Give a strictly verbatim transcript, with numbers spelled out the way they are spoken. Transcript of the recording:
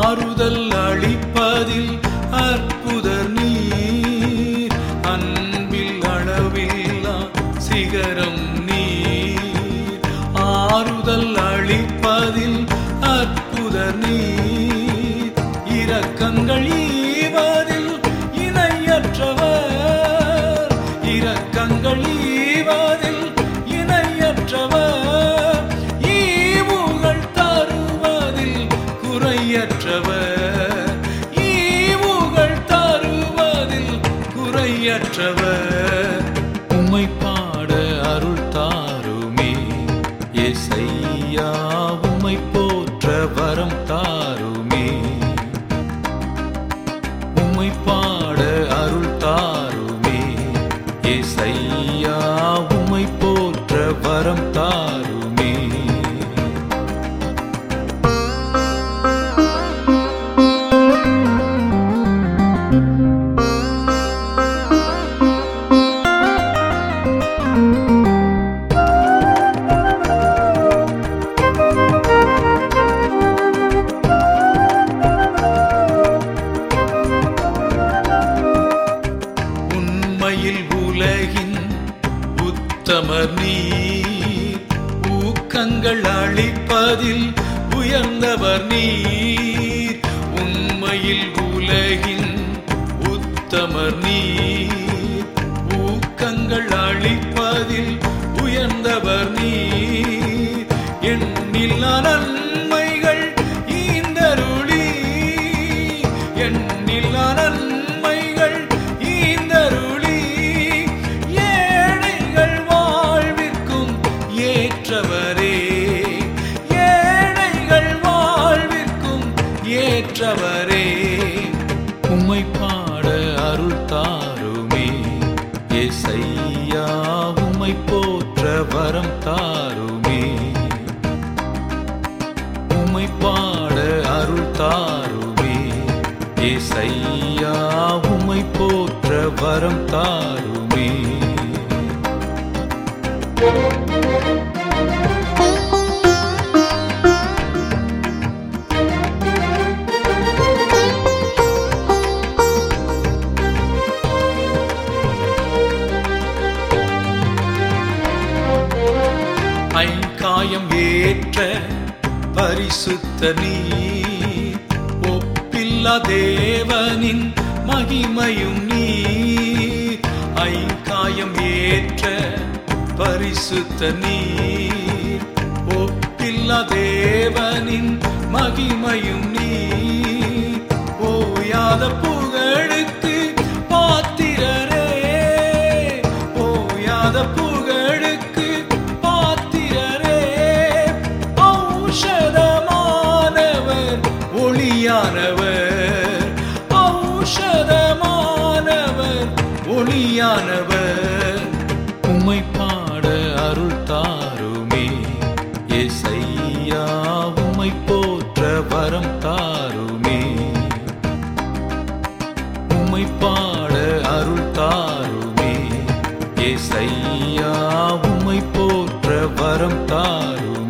ஆறுதல் அளிப்பதில் அற்புதர் நீர், அன்பில் அளவில்லா சிகரம் நீர். ஆறுதல் அளிப்பதில் அற்புதர் நீர், இரக்கங்கள் ஈவதில் இணையற்றவர், இரக்கங்கள் ஈவதில் இணையற்றவர். ஈவுகள் தருவதில் குறையற்றவர், ஈவுகள் தருவதில் குறையற்றவர். உம்மை பாட அருள் தாருமே ஏசையா, உம்மை போற்ற வரம் தாருமே. உம்மை பாட அருள் தாருமே ஏசையா, உம்மை போற்ற வரம் தாருமே. உண்மையில் உலகின் உத்தமர் நீர், ஊக்கங்கள் அளிப்பதில் உயர்ந்தவர் நீர். உண்மையில் உலகின் உத்தமர் நீர், ஊக்கங்கள் அளிப்பதில் உயர்ந்தவர் நீர். எண்ணில்லா நன்மைகள் ஈந்தருளி, எண்ணில்லா நன்மைகள் ஈந்தருளி, ஏழைகள் வாழ்விற்கும் ஏற்றவரே, ஏழைகள் வாழ்விற்கும் ஏற்றவரே. உம்மை பாட அருள் தாருமே ஏசையா, உம்மை போற்ற வரம் தாருமே. உம்மை பாட அருள் தாருமே ஏசையா, உம்மை போற்ற வரம் தாருமே. ஐங்காயம் ஏற்ற பரிசுத்த நீர், ஒப்பில்லா தேவனின் மகிமையும் நீர். ஐங்காயம் ஏற்ற பரிசுத்த நீர், ஒப்பில்லா தேவனின் மகிமையும் நீர். ஓயாத புகழுக்கு பாத்திரரே, ஓயாத புகழுக்கு பாத்திரரே. ஔஷதமானவர் ஒளியானவர், ஔஷதமானவர் ஒளியானவர். உம்மை பாட அருள் தாருமே ஏசையா, உம்மை போற்ற வரம் தாருமே. உம்மை பாட அருள் தாருமே ஏசையா, உம்மை போற்ற வரம் தாருமே.